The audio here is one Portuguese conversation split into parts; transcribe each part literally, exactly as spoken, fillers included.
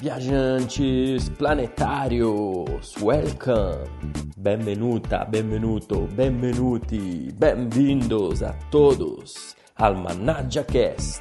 Viajantes planetarios, welcome, benvenuta, benvenuto, benvenuti, benvindos a todos al ManaggiaCast,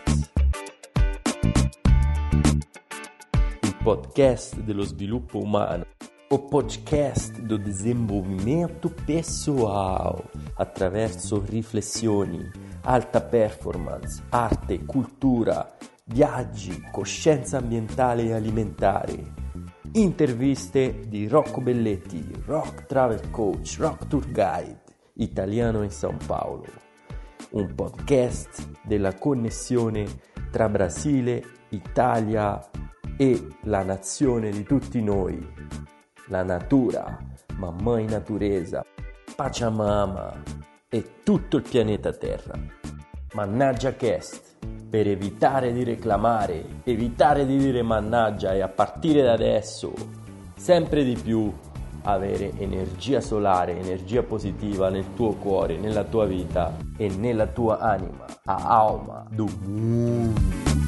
il podcast dello sviluppo umano, o podcast do desenvolvimento pessoal attraverso riflessioni, alta performance, arte, cultura, viaggi, coscienza ambientale e alimentare, interviste di Rocco Belletti, Rock Travel Coach, Rock Tour Guide, italiano in São Paulo, un podcast della connessione tra Brasile, Italia e la nazione di tutti noi, la natura, mamãe natureza, Pachamama e tutto il pianeta Terra. ManaggiaCast, per evitare di reclamare, evitare di dire mannaggia e a partire da adesso sempre di più avere energia solare, energia positiva nel tuo cuore, nella tua vita e nella tua anima, a alma do mundo.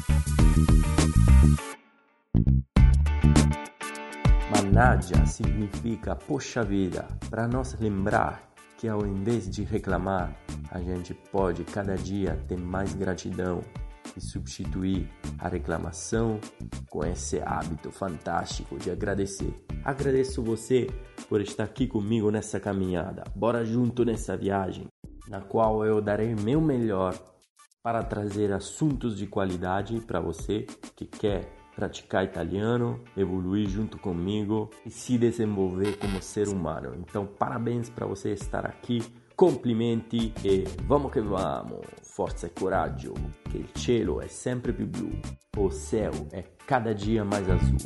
Mannaggia significa poxa vida, para nós lembrar que ao invés de reclamar, a gente pode cada dia ter mais gratidão e substituir a reclamação com esse hábito fantástico de agradecer. Agradeço você por estar aqui comigo nessa caminhada. Bora junto nessa viagem, na qual eu darei meu melhor para trazer assuntos de qualidade para você que quer praticar italiano, evoluir junto comigo e se desenvolver como ser humano. Então, parabéns para você estar aqui, complimenti e vamos che vamos, forza e coraggio, che il cielo è sempre più blu, o céu è cada dia mais azul.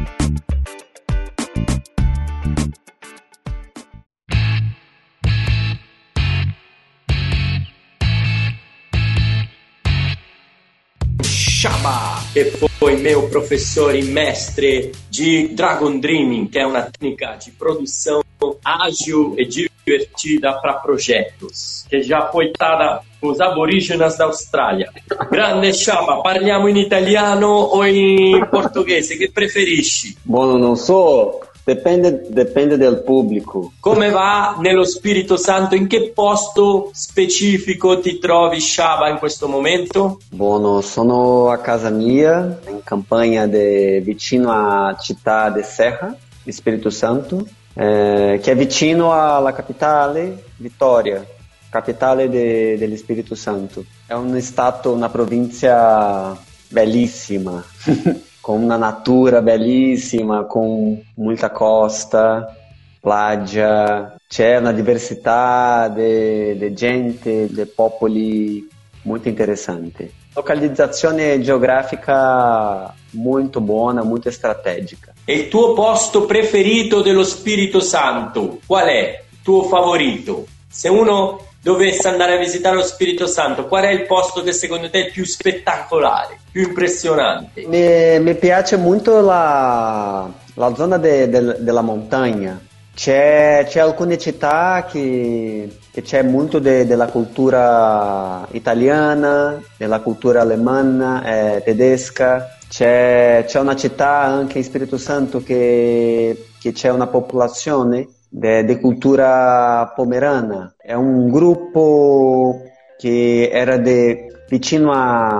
Shaba, e poi meu professore e mestre de Dragon Dreaming, que é uma técnica de produção ágil e divertida para projetos, che já foi data com os aborígenes da Austrália. Grande Shaba, parliamo in italiano o in portoghese, che preferisci? Buono, non so, dipende, dipende dal pubblico. Come va nello Spirito Santo? In che posto specifico ti trovi, Shaba, in questo momento? Buono, sono a casa mia, in campagna de, vicino a Città de Serra, di Spirito Santo, eh, che è vicino alla capitale, Vitória, capitale de, dello Spirito Santo. È un stato, una provincia bellissima. Con una natura bellissima, con molta costa, plaggia, c'è una diversità di gente, di popoli molto interessante. Localizzazione geografica molto buona, molto strategica. E il tuo posto preferito dello Spirito Santo? Qual è il tuo favorito? Se uno dovesse andare a visitare lo Spirito Santo, qual è il posto che secondo te è più spettacolare, più impressionante? Mi, mi piace molto la, la zona de, de, della montagna. C'è, c'è alcune città che, che c'è molto de, della cultura italiana, della cultura alemana, eh, tedesca. C'è, c'è una città anche in Spirito Santo che, che c'è una popolazione di cultura pomerana. È un gruppo che era de, vicino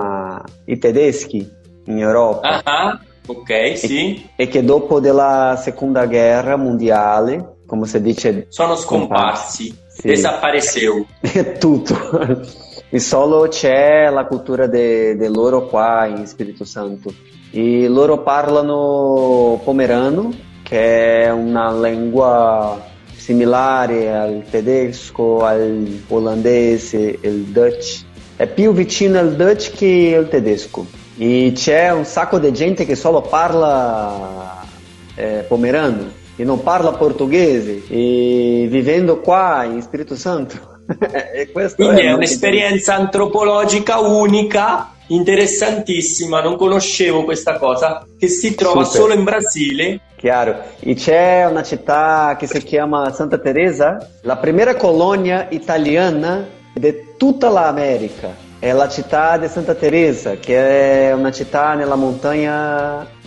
ai tedeschi in Europa. Ah, ok, sì. E, e che dopo della seconda guerra mondiale, come si dice, sono scomparsi, sì. Desapareceu. È tutto. E solo c'è la cultura de, de loro qua in Spirito Santo. E loro parlano pomerano, che è una lingua similare al tedesco, al olandese, il Dutch. È più vicino al Dutch che al tedesco. E c'è un sacco di gente che solo parla eh, pomerano e non parla portoghese, e vivendo qua in Spirito Santo. E quindi è, è un'esperienza antropologica unica, interessantissima, non conoscevo questa cosa, che si trova Super. Solo in Brasile. Chiaro, e c'è una città che si chiama Santa Teresa, la prima colonia italiana di tutta l'America. È la città di Santa Teresa, che è una città nella montagna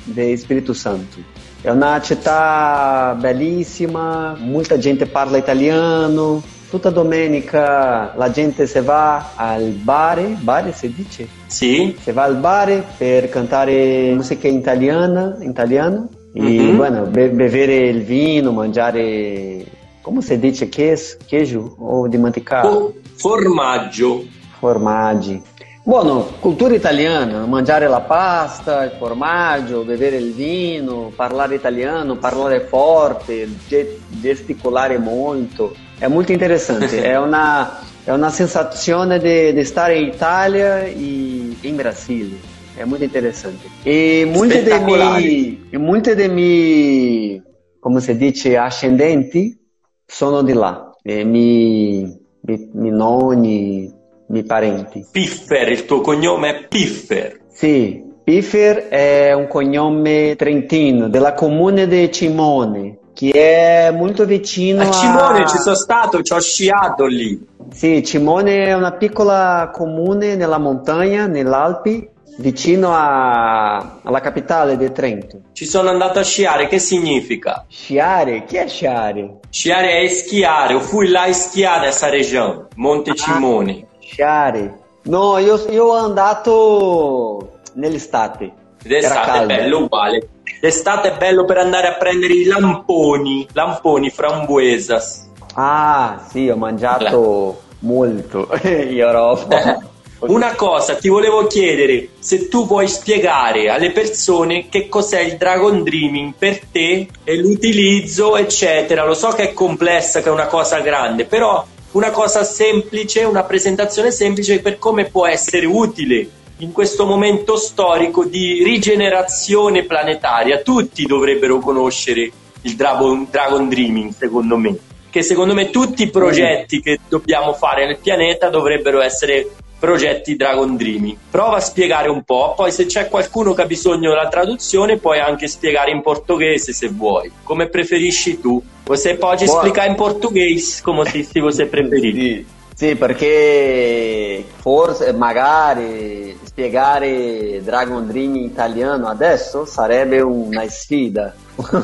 de Espírito Santo. É uma città bellissima, muita gente parla italiano. Tutta domenica la gente se va al bar, bar si dice? Sì. Se va al bar per cantare musica italiana, italiano e mm-hmm. bueno, be- bere il vino, mangiare, come si dice, queijo, queijo o di mantecato? Oh, formaggio. Formaggi. Buono, cultura italiana, mangiare la pasta, il formaggio, bere il vino, parlare italiano, parlare forte, ge- gesticolare molto. È molto interessante, è una, è una sensazione di, di stare in Italia e in Brasile. È molto interessante. E molti dei miei, molti dei miei, come si dice, ascendenti sono di là. E mi, mi, mi nonni, miei parenti. Piffer, il tuo cognome è Piffer. Sì, Piffer è un cognome trentino, della comune di Cimone, che è molto vicino a... A Cimone ci sono stato, ci ho sciato lì. Sì, Cimone è una piccola comune nella montagna, nell'Alpi, vicino a... alla capitale di Trento. Ci sono andato a sciare, che significa? Sciare? Chi è sciare? Sciare è schiare, io fui là a schiare nessa regione, Monte Cimone. Ah, sciare. No, io, io ho andato nell'estate. D'estate è bello uguale. D'estate è bello per andare a prendere i lamponi, lamponi frambuesas. Ah, sì, ho mangiato molto in Europa. Una cosa, ti volevo chiedere se tu puoi spiegare alle persone che cos'è il Dragon Dreaming per te e l'utilizzo, eccetera. Lo so che è complessa, che è una cosa grande, però una cosa semplice, una presentazione semplice per come può essere utile in questo momento storico di rigenerazione planetaria. Tutti dovrebbero conoscere il Dragon, Dragon Dreaming, secondo me, che secondo me tutti i progetti che dobbiamo fare nel pianeta dovrebbero essere progetti Dragon Dreaming. Prova a spiegare un po', poi se c'è qualcuno che ha bisogno della traduzione puoi anche spiegare in portoghese se vuoi, come preferisci tu. Você pode Boa. explicar in português, come se, se você preferir. Sì, sì, perché forse magari spiegare Dragon Dream in italiano adesso sarebbe una sfida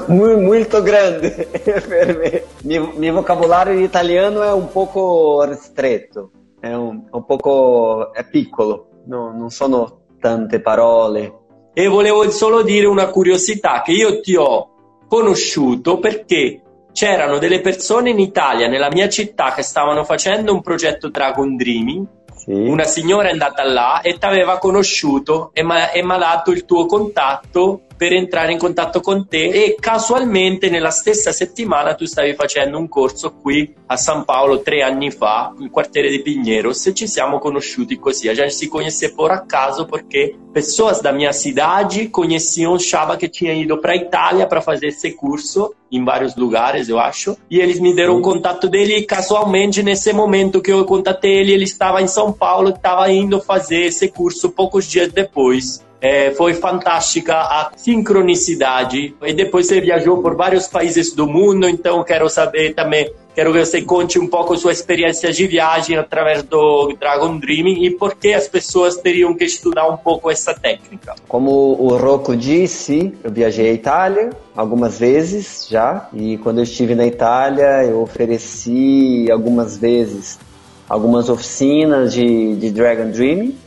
molto grande per me. Il mio vocabolario italiano è un poco ristretto, è un, un poco è piccolo, no, non sono tante parole. E volevo solo dire una curiosità, che io ti ho conosciuto perché c'erano delle persone in Italia, nella mia città, che stavano facendo un progetto Dragon Dreaming. Sì. Una signora è andata là e ti aveva conosciuto e mi ha dato il tuo contatto per entrare in contatto con te, e casualmente nella stessa settimana tu stavi facendo un corso qui a San Paolo tre anni fa, nel quartiere di Pinheiros, e ci siamo conosciuti così. A gente se conheceu por acaso porque pessoas da minha cidade conheciam Chaba, que tinha ido para a Itália para fazer esse curso em vários lugares, eu acho, e eles me deram o contato dele, e casualmente nesse momento que eu contatei ele, ele estava em São Paulo, estava indo fazer esse curso poucos dias depois. É, foi fantástica a sincronicidade, e depois você viajou por vários países do mundo, então quero saber também, quero que você conte um pouco sua experiência de viagem através do Dragon Dreaming e por que as pessoas teriam que estudar um pouco essa técnica. Como o Rocco disse, eu viajei à Itália algumas vezes já, e quando eu estive na Itália eu ofereci algumas vezes algumas oficinas de, de Dragon Dreaming.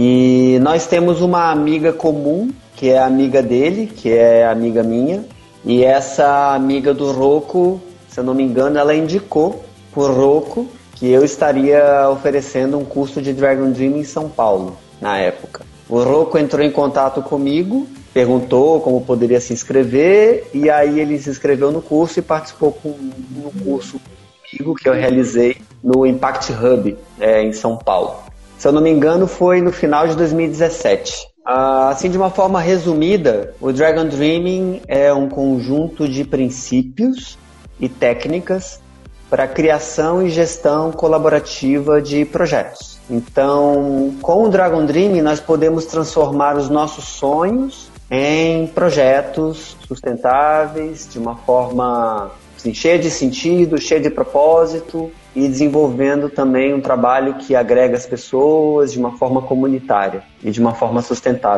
E nós temos uma amiga comum, que é amiga dele, que é amiga minha. E essa amiga do Rocco, se eu não me engano, ela indicou por Rocco que eu estaria oferecendo um curso de Dragon Dream em São Paulo, na época. O Rocco entrou em contato comigo, perguntou como poderia se inscrever, e aí ele se inscreveu no curso e participou com, no curso comigo que eu realizei no Impact Hub, é, em São Paulo. Se eu não me engano, foi no final de dois mil e dezessete. Uh, assim, de uma forma resumida, o Dragon Dreaming é um conjunto de princípios e técnicas para a criação e gestão colaborativa de projetos. Então, com o Dragon Dreaming, nós podemos transformar os nossos sonhos em projetos sustentáveis, de uma forma assim, cheia de sentido, cheia de propósito, e desenvolvendo também um trabalho que agrega as pessoas de uma forma comunitária e de uma forma sustentável.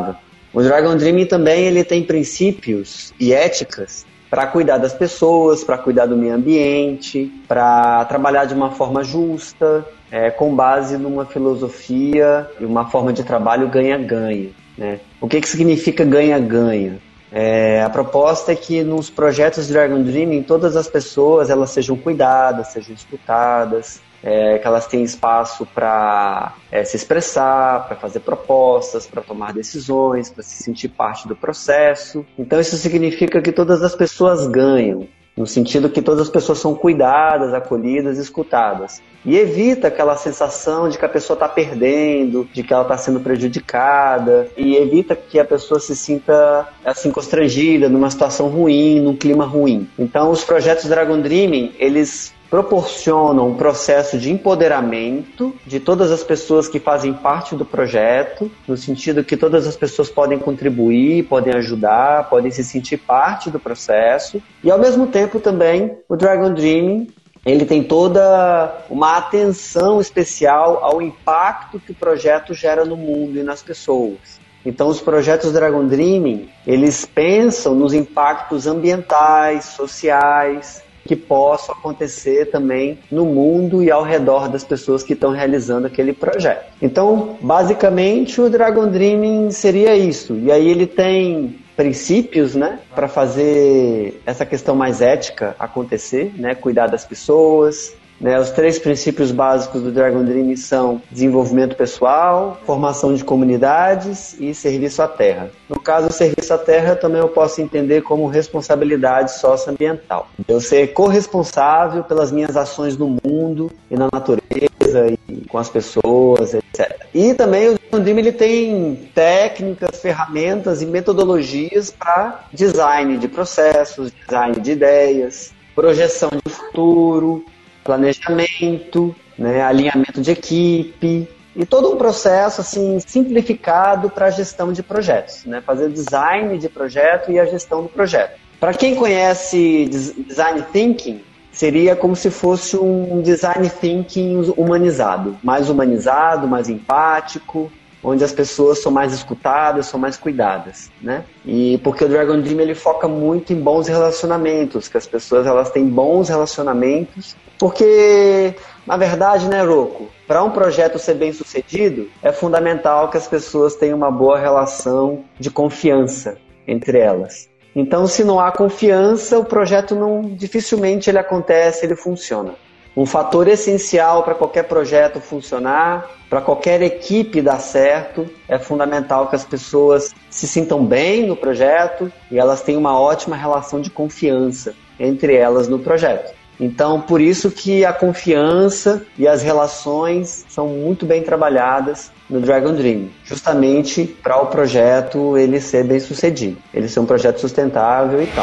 O Dragon Dreaming também ele tem princípios e éticas para cuidar das pessoas, para cuidar do meio ambiente, para trabalhar de uma forma justa, é, com base numa filosofia e uma forma de trabalho ganha-ganha, né? O que, que significa ganha-ganha? É, a proposta é que nos projetos de Dragon Dreaming todas as pessoas elas sejam cuidadas, sejam escutadas, é, que elas tenham espaço para é, se expressar, para fazer propostas, para tomar decisões, para se sentir parte do processo. Então isso significa que todas as pessoas ganham, no sentido que todas as pessoas são cuidadas, acolhidas, escutadas. E evita aquela sensação de que a pessoa está perdendo, de que ela está sendo prejudicada, e evita que a pessoa se sinta assim constrangida, numa situação ruim, num clima ruim. Então os projetos Dragon Dreaming, eles proporcionam um processo de empoderamento de todas as pessoas que fazem parte do projeto, no sentido que todas as pessoas podem contribuir, podem ajudar, podem se sentir parte do processo. E ao mesmo tempo também o Dragon Dreaming ele tem toda uma atenção especial ao impacto que o projeto gera no mundo e nas pessoas. Então os projetos Dragon Dreaming, eles pensam nos impactos ambientais, sociais, que possam acontecer também no mundo e ao redor das pessoas que estão realizando aquele projeto. Então, basicamente, o Dragon Dreaming seria isso. E aí ele tem princípios, né, para fazer essa questão mais ética acontecer, né, cuidar das pessoas. Né, os três princípios básicos do Dragon Dreaming são desenvolvimento pessoal, formação de comunidades e serviço à terra. No caso, o serviço à terra também eu posso entender como responsabilidade socioambiental. Eu ser corresponsável pelas minhas ações no mundo e na natureza e com as pessoas, etcétera. E também o Dragon Dreaming ele tem técnicas, ferramentas e metodologias para design de processos, design de ideias, projeção de futuro, planejamento, né, alinhamento de equipe e todo um processo assim, simplificado para a gestão de projetos, né, fazer design de projeto e a gestão do projeto. Para quem conhece Design Thinking, seria como se fosse um Design Thinking humanizado, mais humanizado, mais empático, onde as pessoas são mais escutadas, são mais cuidadas, né? E porque o Dragon Dream ele foca muito em bons relacionamentos, que as pessoas elas têm bons relacionamentos, porque na verdade, né, Rocco, para um projeto ser bem sucedido, é fundamental que as pessoas tenham uma boa relação de confiança entre elas. Então, se não há confiança, o projeto não dificilmente ele acontece, ele funciona. Um fator essencial para qualquer projeto funcionar, para qualquer equipe dar certo, é fundamental que as pessoas se sintam bem no projeto e elas tenham uma ótima relação de confiança entre elas no projeto. Então, por isso que a confiança e as relações são muito bem trabalhadas no Dragon Dream, justamente para o projeto ele ser bem sucedido, ele ser um projeto sustentável e tal.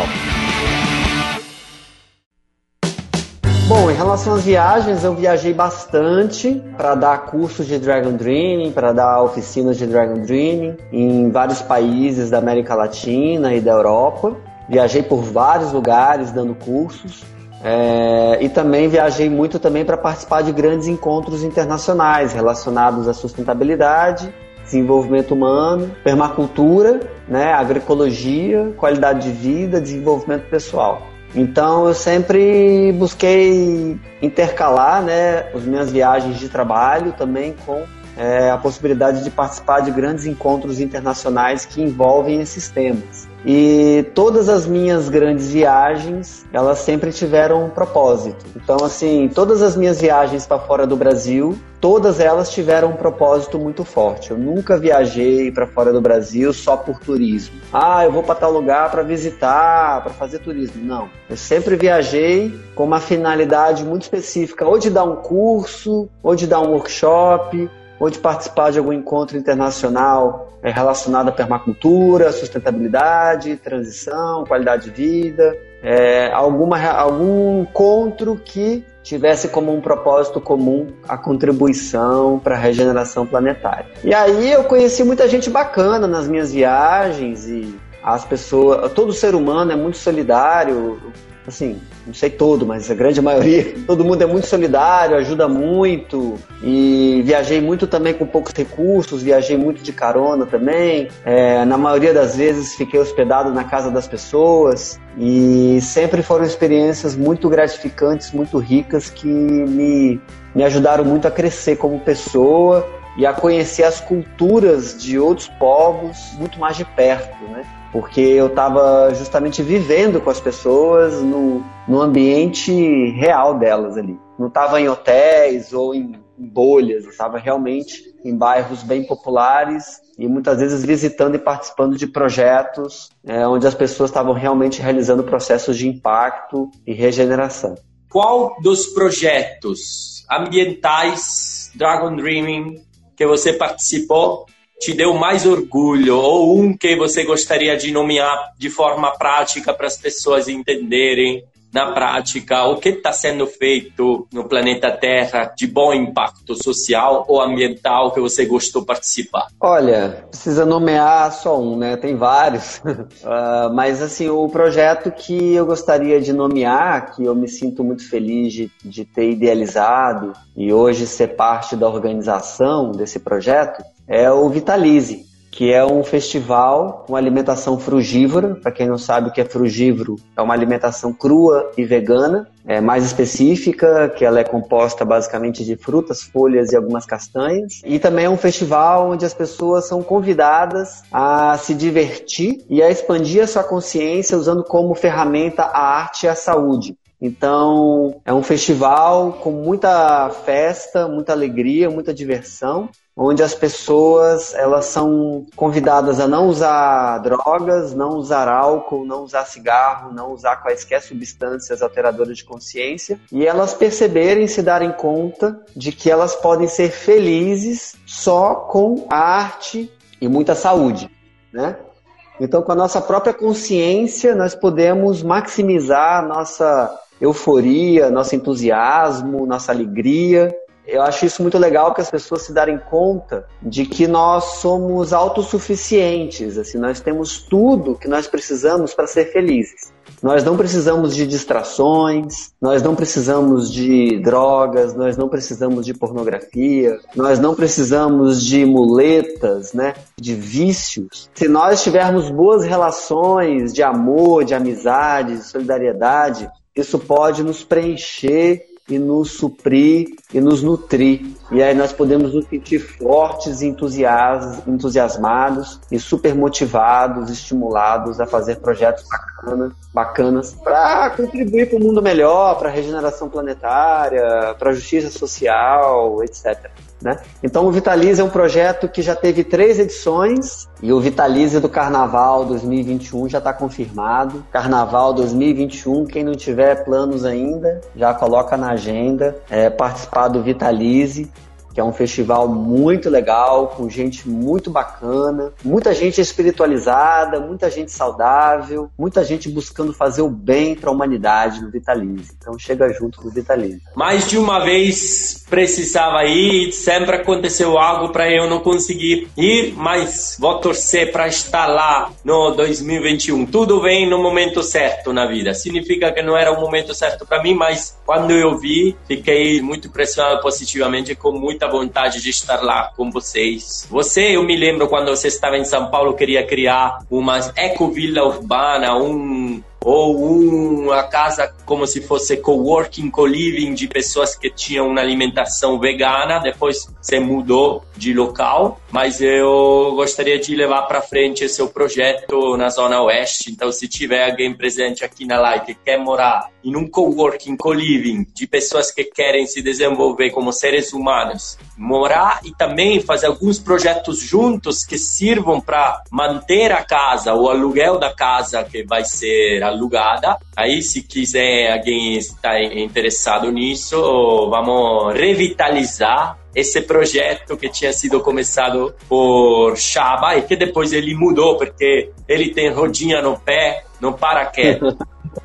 Bom, em relação às viagens, eu viajei bastante para dar cursos de Dragon Dreaming, para dar oficinas de Dragon Dreaming em vários países da América Latina e da Europa. Viajei por vários lugares dando cursos é, e também viajei muito também para participar de grandes encontros internacionais relacionados à sustentabilidade, desenvolvimento humano, permacultura, né, agroecologia, qualidade de vida, desenvolvimento pessoal. Então eu sempre busquei intercalar, né, as minhas viagens de trabalho também com é, a possibilidade de participar de grandes encontros internacionais que envolvem esses temas. E todas as minhas grandes viagens, elas sempre tiveram um propósito. Então, assim, todas as minhas viagens para fora do Brasil, todas elas tiveram um propósito muito forte. Eu nunca viajei para fora do Brasil só por turismo. Ah, eu vou para tal lugar para visitar, para fazer turismo. Não. Eu sempre viajei com uma finalidade muito específica, ou de dar um curso, ou de dar um workshop, ou de participar de algum encontro internacional relacionado à permacultura, sustentabilidade, transição, qualidade de vida, é, alguma, algum encontro que tivesse como um propósito comum a contribuição para a regeneração planetária. E aí eu conheci muita gente bacana nas minhas viagens e as pessoas, todo ser humano é muito solidário. assim, não sei todo, mas a grande maioria, todo mundo é muito solidário, ajuda muito, e viajei muito também com poucos recursos, viajei muito de carona também, é, na maioria das vezes fiquei hospedado na casa das pessoas, e sempre foram experiências muito gratificantes, muito ricas, que me, me ajudaram muito a crescer como pessoa e a conhecer as culturas de outros povos muito mais de perto, né? Porque eu estava justamente vivendo com as pessoas no, no ambiente real delas ali. Não estava em hotéis ou em, em bolhas, eu estava realmente em bairros bem populares e muitas vezes visitando e participando de projetos é, onde as pessoas estavam realmente realizando processos de impacto e regeneração. Qual dos projetos ambientais Dragon Dreaming que você participou te deu mais orgulho, ou um que você gostaria de nomear de forma prática para as pessoas entenderem na prática o que está sendo feito no planeta Terra de bom impacto social ou ambiental que você gostou de participar? Olha, precisa nomear só um, né? Tem vários. uh, mas assim, o projeto que eu gostaria de nomear, que eu me sinto muito feliz de, de ter idealizado e hoje ser parte da organização desse projeto, é o Vitalize, que é um festival com alimentação frugívora. Para quem não sabe o que é frugívoro, é uma alimentação crua e vegana, é mais específica, que ela é composta basicamente de frutas, folhas e algumas castanhas. E também é um festival onde as pessoas são convidadas a se divertir e a expandir a sua consciência usando como ferramenta a arte e a saúde. Então, é um festival com muita festa, muita alegria, muita diversão, onde as pessoas elas são convidadas a não usar drogas, não usar álcool, não usar cigarro, não usar quaisquer substâncias alteradoras de consciência, e elas perceberem, se darem conta de que elas podem ser felizes só com a arte e muita saúde, né? Então, com a nossa própria consciência, nós podemos maximizar a nossa euforia, nosso entusiasmo, nossa alegria. Eu acho isso muito legal, que as pessoas se darem conta de que nós somos autossuficientes, assim, nós temos tudo que nós precisamos para ser felizes. Nós não precisamos de distrações, nós não precisamos de drogas, nós não precisamos de pornografia, nós não precisamos de muletas, né, de vícios. Se nós tivermos boas relações de amor, de amizade, de solidariedade, isso pode nos preencher e nos suprir e nos nutrir. E aí nós podemos nos sentir fortes e entusiasmados e super motivados, estimulados a fazer projetos bacanas, bacanas para contribuir para um mundo melhor, para a regeneração planetária, para a justiça social, etcétera. Né? Então o Vitalize é um projeto que já teve três edições e o Vitalize do Carnaval dois mil e vinte e um já está confirmado. Carnaval dois mil e vinte e um, quem não tiver planos ainda, já coloca na agenda, é, participar do Vitalize, que é um festival muito legal, com gente muito bacana, muita gente espiritualizada, muita gente saudável, muita gente buscando fazer o bem para a humanidade no Vitalize. Então chega junto no Vitalize. Mais de uma vez precisava ir e sempre aconteceu algo para eu não conseguir ir, mas vou torcer para estar lá no dois mil e vinte e um. Tudo vem no momento certo na vida. Significa que não era o momento certo para mim, mas quando eu vi, fiquei muito impressionado positivamente, com muita vontade de estar lá com vocês. Você, eu me lembro quando você estava em São Paulo, queria criar uma ecovila urbana, um ou uma casa como se fosse coworking, co-living de pessoas que tinham uma alimentação vegana. Depois você mudou de local, mas eu gostaria de levar para frente esse seu projeto na Zona Oeste. Então, se tiver alguém presente aqui na live que quer morar em um coworking, co-living de pessoas que querem se desenvolver como seres humanos, morar e também fazer alguns projetos juntos que sirvam para manter a casa, o aluguel da casa que vai ser alugada. Aí, se quiser, alguém está interessado nisso, vamos revitalizar esse projeto que tinha sido começado por Chaba e que depois ele mudou porque ele tem rodinha no pé, não para quieto.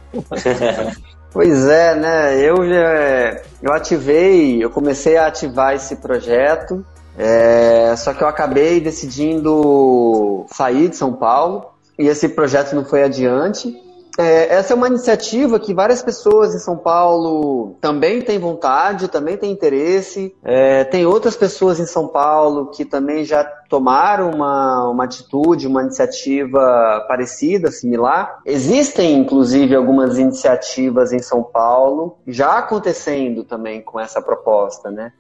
Pois é, né? Eu, eu ativei, eu comecei a ativar esse projeto, é, só que eu acabei decidindo sair de São Paulo e esse projeto não foi adiante. É, essa é uma iniciativa que várias pessoas em São Paulo também têm vontade, também têm interesse. É, tem outras pessoas em São Paulo que também já tomaram uma, uma atitude, uma iniciativa parecida, similar. Existem, inclusive, algumas iniciativas em São Paulo já acontecendo também com essa proposta, né?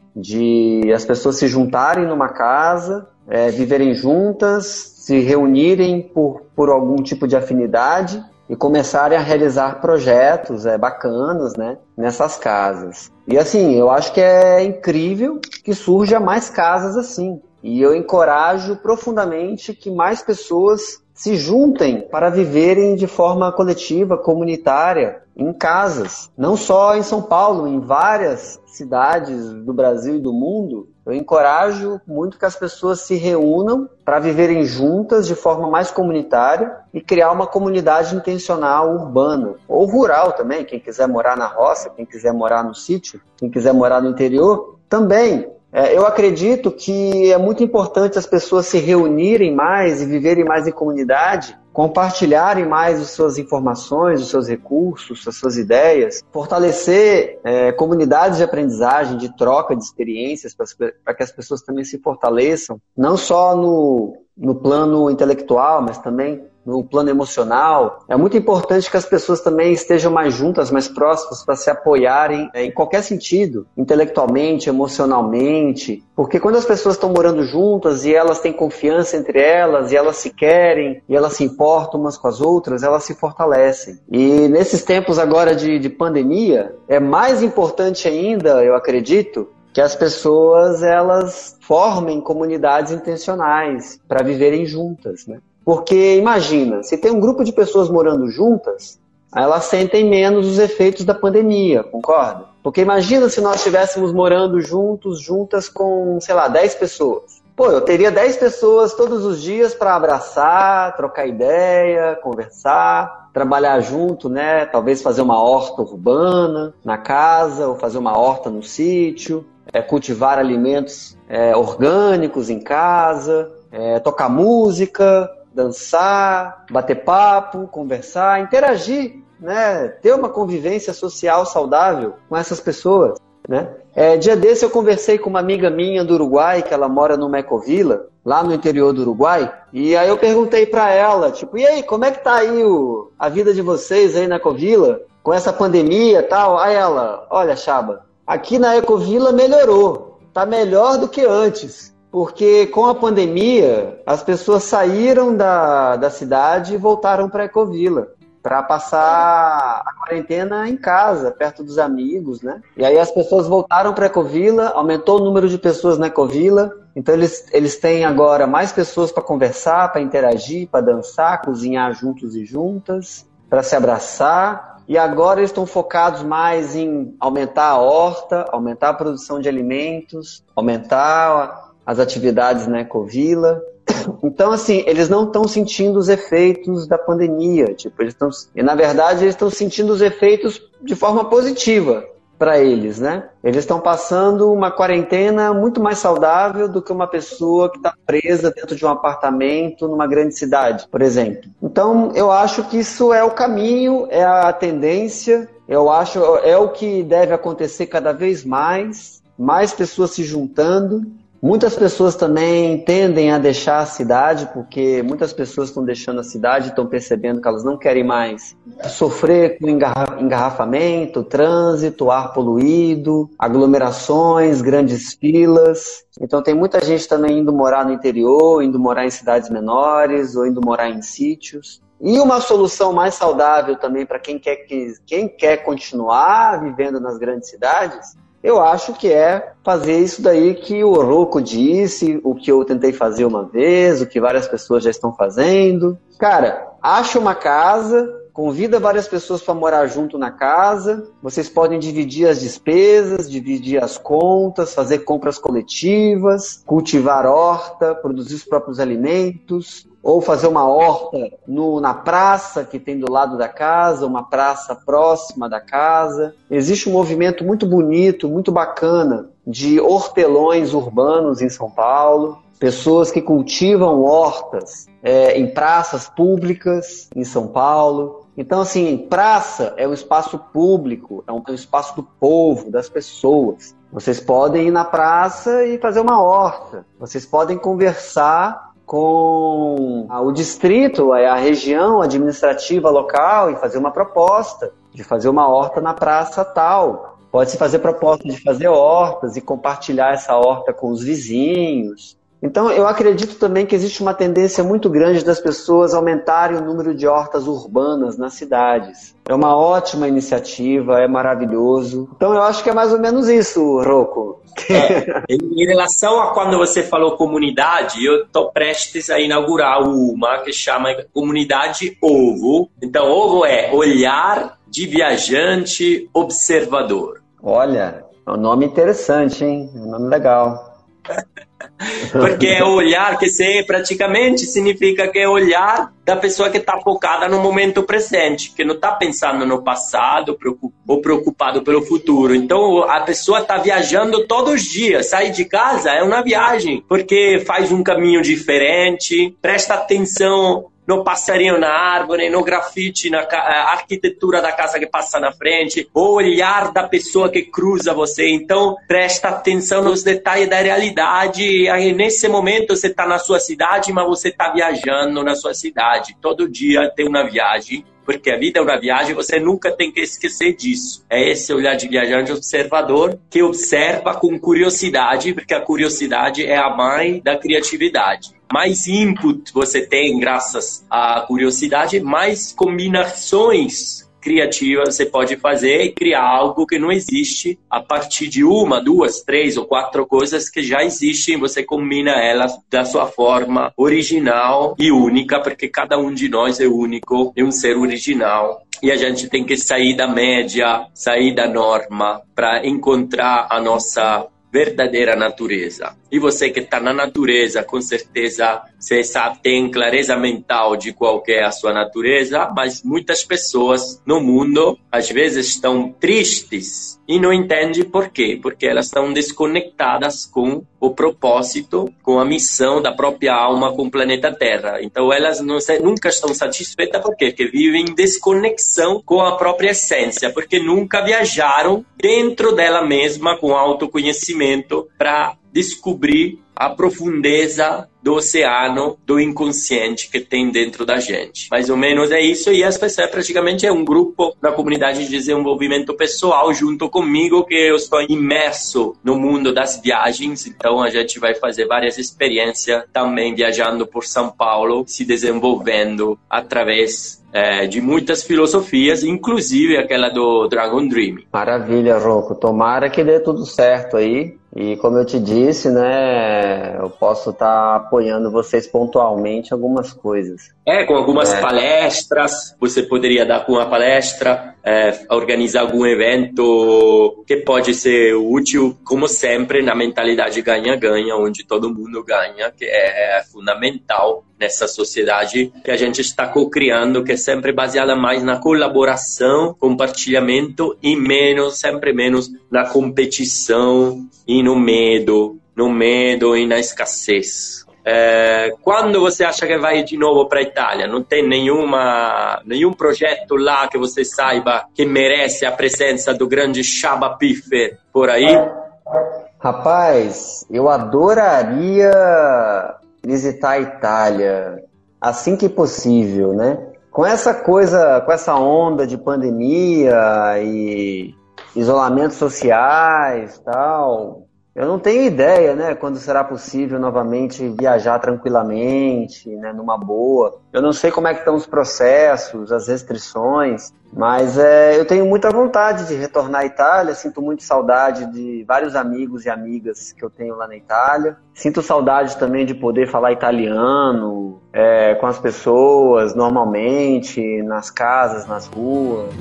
De as pessoas se juntarem numa casa, é, viverem juntas, se reunirem por, por algum tipo de afinidade e começarem a realizar projetos é, bacanas, né, nessas casas. E assim, eu acho que é incrível que surja mais casas assim. E eu encorajo profundamente que mais pessoas se juntem para viverem de forma coletiva, comunitária, em casas. Não só em São Paulo, em várias cidades do Brasil e do mundo. Eu encorajo muito que as pessoas se reúnam para viverem juntas de forma mais comunitária e criar uma comunidade intencional urbana, ou rural também, quem quiser morar na roça, quem quiser morar no sítio, quem quiser morar no interior, também. É, eu acredito que é muito importante as pessoas se reunirem mais e viverem mais em comunidade, compartilharem mais as suas informações, os seus recursos, as suas ideias, fortalecer é, comunidades de aprendizagem, de troca de experiências para que as pessoas também se fortaleçam, não só no, no plano intelectual, mas também no plano emocional. É muito importante que as pessoas também estejam mais juntas, mais próximas, para se apoiarem é, em qualquer sentido, intelectualmente, emocionalmente, porque quando as pessoas estão morando juntas e elas têm confiança entre elas, e elas se querem, e elas se importam umas com as outras, elas se fortalecem. E nesses tempos agora de, de pandemia, é mais importante ainda, eu acredito, que as pessoas elas formem comunidades intencionais para viverem juntas, né? Porque imagina, se tem um grupo de pessoas morando juntas, elas sentem menos os efeitos da pandemia, concorda? Porque imagina se nós estivéssemos morando juntos, juntas com, sei lá, dez pessoas. Pô, eu teria dez pessoas todos os dias para abraçar, trocar ideia, conversar, trabalhar junto, né? Talvez fazer uma horta urbana na casa, ou fazer uma horta no sítio, é, cultivar alimentos é, orgânicos em casa, é, tocar música, dançar, bater papo, conversar, interagir, né? Ter uma convivência social saudável com essas pessoas, né? É, dia desse eu conversei com uma amiga minha do Uruguai, que ela mora no Ecovila, lá no interior do Uruguai, e aí eu perguntei pra ela, tipo, e aí, como é que tá aí o, a vida de vocês aí na Ecovila, com essa pandemia e tal? Aí ela, olha, Chaba, aqui na Ecovila melhorou, tá melhor do que antes. Porque com a pandemia, as pessoas saíram da, da cidade e voltaram para a Ecovila, para passar a quarentena em casa, perto dos amigos, né? E aí as pessoas voltaram para a Ecovila, aumentou o número de pessoas na Ecovila, então eles, eles têm agora mais pessoas para conversar, para interagir, para dançar, cozinhar juntos e juntas, para se abraçar. E agora eles estão focados mais em aumentar a horta, aumentar a produção de alimentos, aumentar as atividades na Ecovila. Então, assim, eles não estão sentindo os efeitos da pandemia. Tipo, eles estão, e, na verdade, eles estão sentindo os efeitos de forma positiva para eles, né? Eles estão passando uma quarentena muito mais saudável do que uma pessoa que está presa dentro de um apartamento numa grande cidade, por exemplo. Então, eu acho que isso é o caminho, é a tendência, eu acho é o que deve acontecer cada vez mais, mais pessoas se juntando. Muitas pessoas também tendem a deixar a cidade, porque muitas pessoas estão deixando a cidade e estão percebendo que elas não querem mais sofrer com engarra- engarrafamento, trânsito, ar poluído, aglomerações, grandes filas. Então tem muita gente também indo morar no interior, indo morar em cidades menores ou indo morar em sítios. E uma solução mais saudável também para quem quer, que, quem quer continuar vivendo nas grandes cidades, eu acho que é fazer isso daí que o Rocco disse, o que eu tentei fazer uma vez, o que várias pessoas já estão fazendo. Cara, acha uma casa, convida várias pessoas para morar junto na casa, vocês podem dividir as despesas, dividir as contas, fazer compras coletivas, cultivar horta, produzir os próprios alimentos, ou fazer uma horta no, na praça que tem do lado da casa, uma praça próxima da casa. Existe um movimento muito bonito, muito bacana de hortelões urbanos em São Paulo, pessoas que cultivam hortas é, em praças públicas em São Paulo. Então, assim, praça é um espaço público, é um, é um espaço do povo, das pessoas. Vocês podem ir na praça e fazer uma horta. Vocês podem conversar com o distrito, a região administrativa local e fazer uma proposta de fazer uma horta na praça tal. Pode-se fazer proposta de fazer hortas e compartilhar essa horta com os vizinhos. Então, eu acredito também que existe uma tendência muito grande das pessoas aumentarem o número de hortas urbanas nas cidades. É uma ótima iniciativa, é maravilhoso. Então, eu acho que é mais ou menos isso, Rocco. É, em relação a quando você falou comunidade, eu estou prestes a inaugurar uma que chama Comunidade Ovo. Então, Ovo é olhar de viajante observador. Olha, é um nome interessante, hein? É um nome legal. Porque é olhar que você praticamente significa que é olhar da pessoa que está focada no momento presente, que não está pensando no passado ou preocupado pelo futuro. Então a pessoa está viajando todos os dias, sai de casa é uma viagem, porque faz um caminho diferente, presta atenção no passarinho na árvore, no grafite, na arquitetura da casa que passa na frente, o olhar da pessoa que cruza você. Então, presta atenção nos detalhes da realidade. Aí, nesse momento, você está na sua cidade, mas você está viajando na sua cidade. Todo dia tem uma viagem, porque a vida é uma viagem, você nunca tem que esquecer disso. É esse olhar de viajante observador que observa com curiosidade, porque a curiosidade é a mãe da criatividade. Mais input você tem graças à curiosidade, mais combinações criativas você pode fazer e criar algo que não existe a partir de uma, duas, três ou quatro coisas que já existem. Você combina elas da sua forma original e única, porque cada um de nós é único, é um ser original. E a gente tem que sair da média, sair da norma para encontrar a nossa verdadeira natureza. E você que está na natureza, com certeza você sabe, tem clareza mental de qual é a sua natureza, mas muitas pessoas no mundo às vezes estão tristes e não entendem por quê, porque elas estão desconectadas com o propósito, com a missão da própria alma com o planeta Terra. Então elas não, nunca estão satisfeitas porque que vivem em desconexão com a própria essência, porque nunca viajaram dentro dela mesma com autoconhecimento para descobrir a profundeza do oceano do inconsciente que tem dentro da gente. Mais ou menos é isso, e as pessoas praticamente é um grupo na comunidade de desenvolvimento pessoal junto comigo, que eu estou imerso no mundo das viagens. Então a gente vai fazer várias experiências também viajando por São Paulo, se desenvolvendo através é, de muitas filosofias, inclusive aquela do Dragon Dream. Maravilha, Rocco. Tomara que dê tudo certo aí. E como eu te disse, né, eu posso estar apoiando vocês pontualmente em algumas coisas. É, com algumas é. palestras, você poderia dar com uma palestra, é, organizar algum evento que pode ser útil, como sempre, na mentalidade ganha-ganha, onde todo mundo ganha, que é fundamental nessa sociedade que a gente está co-criando, que é sempre baseada mais na colaboração, compartilhamento e menos, sempre menos na competição e no medo, no medo e na escassez. É, quando você acha que vai de novo para a Itália? Não tem nenhuma, nenhum projeto lá que você saiba que merece a presença do grande Chaba Piffer por aí? Rapaz, eu adoraria visitar a Itália assim que possível, né? Com essa coisa, com essa onda de pandemia e isolamentos sociais, tal, eu não tenho ideia, né, quando será possível novamente viajar tranquilamente, né, numa boa. Eu não sei como é que estão os processos, as restrições, mas é, eu tenho muita vontade de retornar à Itália. Sinto muito saudade de vários amigos e amigas que eu tenho lá na Itália. Sinto saudade também de poder falar italiano é, com as pessoas normalmente, nas casas, nas ruas.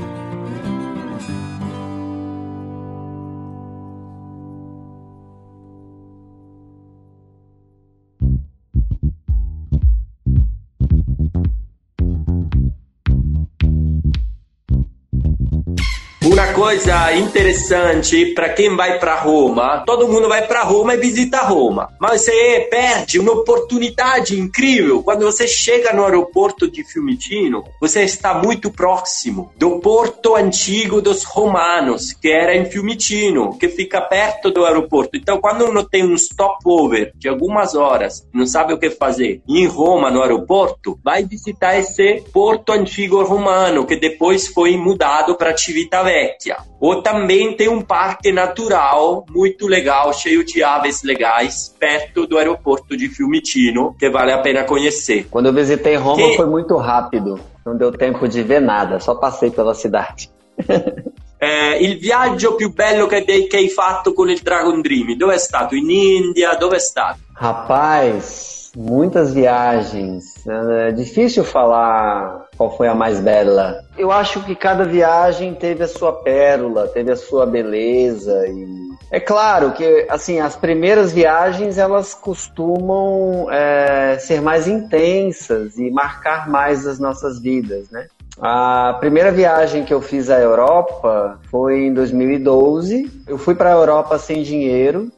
Una coisa interessante para quem vai para Roma. Todo mundo vai para Roma e visita Roma, mas você perde uma oportunidade incrível. Quando você chega no aeroporto de Fiumicino, você está muito próximo do porto antigo dos romanos, que era em Fiumicino, que fica perto do aeroporto. Então, quando uno tem um stopover de algumas horas, não sabe o que fazer, em Roma, no aeroporto, vai visitar esse porto antigo romano, que depois foi mudado para Civitavecchia. Ou também tem um parque natural muito legal, cheio de aves legais, perto do aeroporto de Fiumicino, que vale a pena conhecer. Quando eu visitei Roma che... foi muito rápido, não deu tempo de ver nada, só passei pela cidade. Eh, il viaggio più bello che, che hai fatto con il Dragon Dream, dove è stato? In India? Dove è stato? Rapaz, muitas viagens. É difícil falar qual foi a mais bela. Eu acho que cada viagem teve a sua pérola, teve a sua beleza. E é claro que assim, as primeiras viagens elas costumam é, ser mais intensas e marcar mais as nossas vidas, né? A primeira viagem que eu fiz à Europa foi em dois mil e doze. Eu fui para a Europa sem dinheiro.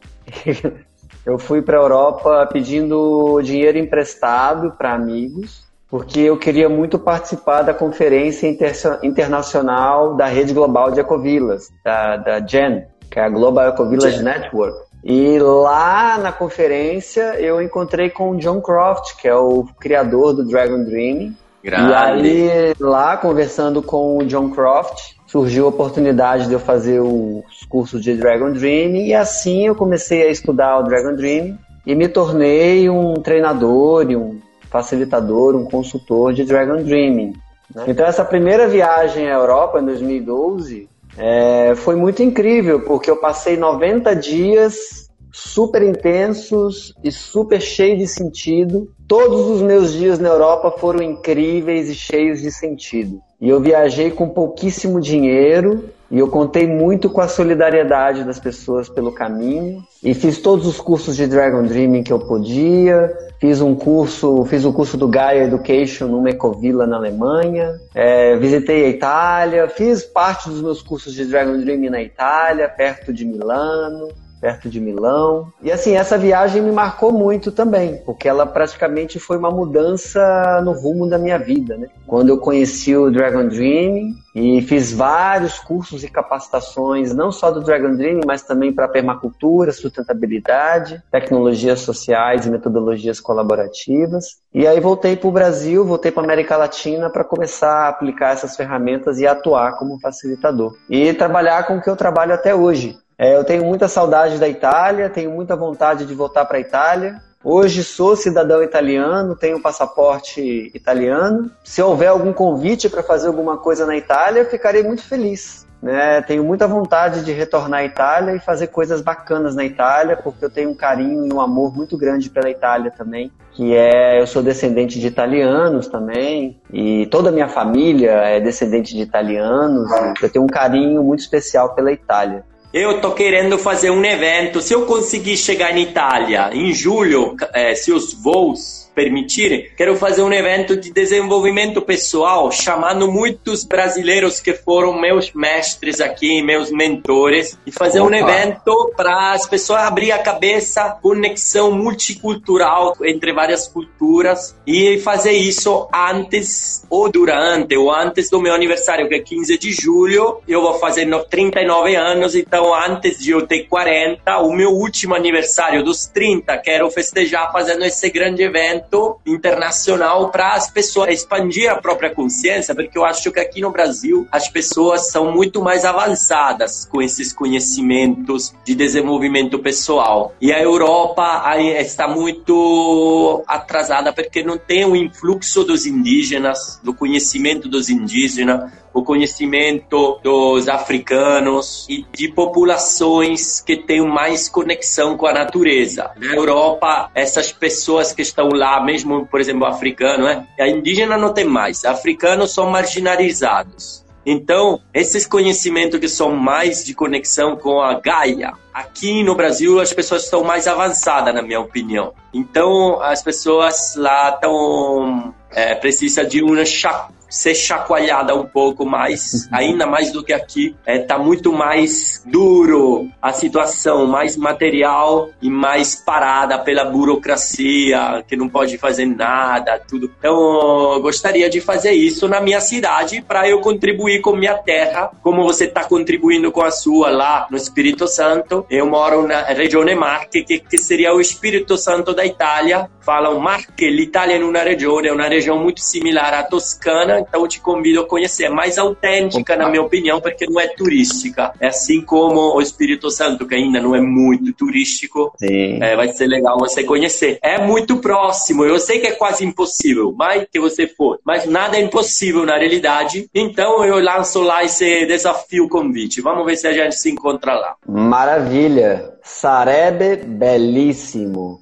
Eu fui para a Europa pedindo dinheiro emprestado para amigos, porque eu queria muito participar da Conferência Inter- Internacional da Rede Global de Ecovilas, da, da G E N, que é a Global Ecovillage G E N Network. E lá na conferência eu encontrei com o John Croft, que é o criador do Dragon Dream. Grande. E aí, lá, conversando com o John Croft, surgiu a oportunidade de eu fazer os cursos de Dragon Dream, e assim eu comecei a estudar o Dragon Dream e me tornei um treinador e um facilitador, um consultor de Dragon Dreaming, né? Então essa primeira viagem à Europa, em dois mil e doze, é, foi muito incrível, porque eu passei noventa dias super intensos e super cheios de sentido. Todos os meus dias na Europa foram incríveis e cheios de sentido. E eu viajei com pouquíssimo dinheiro e eu contei muito com a solidariedade das pessoas pelo caminho. E fiz todos os cursos de Dragon Dreaming que eu podia. Fiz um curso, fiz o curso do Gaia Education numa ecovila na Alemanha. É, visitei a Itália. Fiz parte dos meus cursos de Dragon Dreaming na Itália, perto de Milano. perto de Milão. E assim, essa viagem me marcou muito também, porque ela praticamente foi uma mudança no rumo da minha vida, né? Quando eu conheci o Dragon Dream e fiz vários cursos e capacitações, não só do Dragon Dream, mas também para permacultura, sustentabilidade, tecnologias sociais e metodologias colaborativas. E aí voltei para o Brasil, voltei para a América Latina para começar a aplicar essas ferramentas e atuar como facilitador. E trabalhar com o que eu trabalho até hoje. É, eu tenho muita saudade da Itália, tenho muita vontade de voltar para a Itália. Hoje sou cidadão italiano, tenho passaporte italiano. Se houver algum convite para fazer alguma coisa na Itália, ficarei muito feliz, né? Tenho muita vontade de retornar à Itália e fazer coisas bacanas na Itália, porque eu tenho um carinho e um amor muito grande pela Itália também, que é, eu sou descendente de italianos também, e toda a minha família é descendente de italianos, eu tenho um carinho muito especial pela Itália. Eu tô querendo fazer um evento, se eu conseguir chegar em Itália em julho, eh, se os voos permitirem, quero fazer um evento de desenvolvimento pessoal, chamando muitos brasileiros que foram meus mestres aqui, meus mentores, e fazer Opa. um evento para as pessoas abrir a cabeça, conexão multicultural entre várias culturas, e fazer isso antes ou durante ou antes do meu aniversário, que é quinze de julho. Eu vou fazer trinta e nove anos, então antes de eu ter quarenta, o meu último aniversário dos trinta, quero festejar fazendo esse grande evento internacional para as pessoas expandir a própria consciência, porque eu acho que aqui no Brasil as pessoas são muito mais avançadas com esses conhecimentos de desenvolvimento pessoal, e a Europa está muito atrasada porque não tem o influxo dos indígenas, do conhecimento dos indígenas, o conhecimento dos africanos e de populações que têm mais conexão com a natureza. Na Europa, essas pessoas que estão lá, mesmo, por exemplo, africano, né? A indígena não tem mais, africanos são marginalizados. Então, esses conhecimentos que são mais de conexão com a Gaia, aqui no Brasil as pessoas estão mais avançadas, na minha opinião. Então, as pessoas lá estão, é, precisam de um chá ser chacoalhada um pouco mais, ainda mais do que aqui. É, tá muito mais duro a situação, mais material e mais parada pela burocracia, que não pode fazer nada, tudo. Então, eu gostaria de fazer isso na minha cidade para eu contribuir com minha terra, como você está contribuindo com a sua lá no Espírito Santo. Eu moro na regione Marche, que, que seria o Espírito Santo da Itália. Falam Marche, l'Italia in una regione, é uma região muito similar à Toscana, então eu te convido a conhecer. É mais autêntica, na minha opinião, porque não é turística. É assim como o Espírito Santo, que ainda não é muito turístico. É, vai ser legal você conhecer. É muito próximo, eu sei que é quase impossível, mas que você for. Mas nada é impossível na realidade, então eu lanço lá esse desafio convite. Vamos ver se a gente se encontra lá. Maravilha! Sarebbe bellissimo!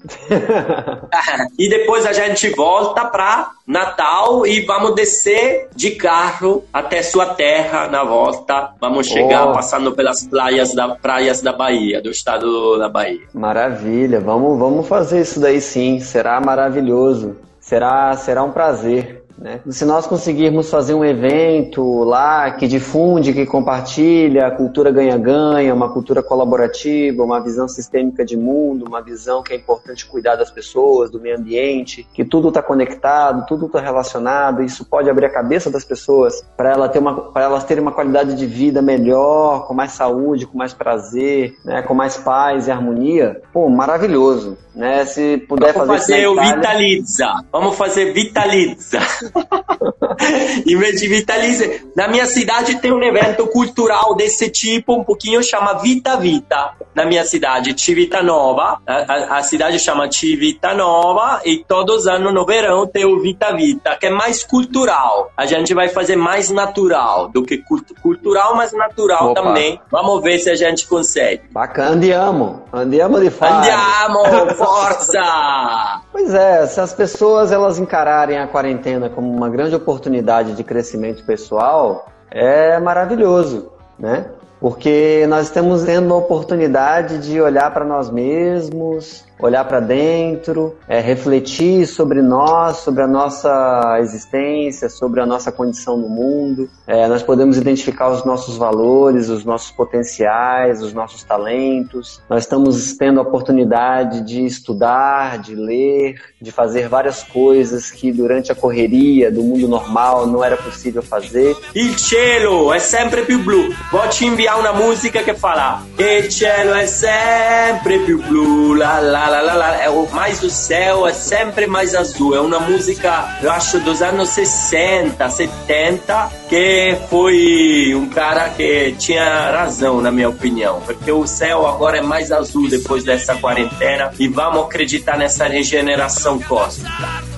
E depois a gente volta para Natal e vamos descer de carro até sua terra na volta. Vamos chegar oh. passando pelas praias da, praias da Bahia, do estado da Bahia. Maravilha! Vamos, vamos fazer isso daí sim, será maravilhoso. Será, será um prazer. Né? Se nós conseguirmos fazer um evento lá que difunde, que compartilha a cultura ganha-ganha, uma cultura colaborativa, uma visão sistêmica de mundo, uma visão que é importante cuidar das pessoas, do meio ambiente, que tudo está conectado, tudo está relacionado, isso pode abrir a cabeça das pessoas para ela ter uma, para elas terem uma qualidade de vida melhor, com mais saúde, com mais prazer, né? Com mais paz e harmonia. Pô, maravilhoso. Né? Se puder Vamos fazer, fazer o Itália... Vitalizza. Vamos fazer Vitalizza. Em vez de Vitalizza, na minha cidade tem um evento cultural desse tipo, um pouquinho, chama Vita Vita. Na minha cidade, Civitanova, a, a, a cidade chama Civitanova, e todos os anos no verão tem o Vita Vita, que é mais cultural. A gente vai fazer mais natural do que cultu- cultural, mas natural Opa. também. Vamos ver se a gente consegue. Bacana, andiamo, andiamo de fato. Andiamo, força! Pois é, se as pessoas elas encararem a quarentena como uma grande oportunidade de crescimento pessoal, é maravilhoso, né? Porque nós estamos tendo a oportunidade de olhar para nós mesmos, olhar para dentro, é, refletir sobre nós, sobre a nossa existência, sobre a nossa condição no mundo. É, nós podemos identificar os nossos valores, os nossos potenciais, os nossos talentos. Nós estamos tendo a oportunidade de estudar, de ler, de fazer várias coisas que durante a correria do mundo normal não era possível fazer. Il cielo è sempre più blu. Vou te enviar uma música que fala Il cielo è sempre più blu, la la la la la. É, mais o céu é sempre mais azul. É uma música, eu acho, dos anos sessenta, setenta, que foi um cara que tinha razão, na minha opinião, porque o céu agora é mais azul depois dessa quarentena e vamos acreditar nessa regeneração cósmica.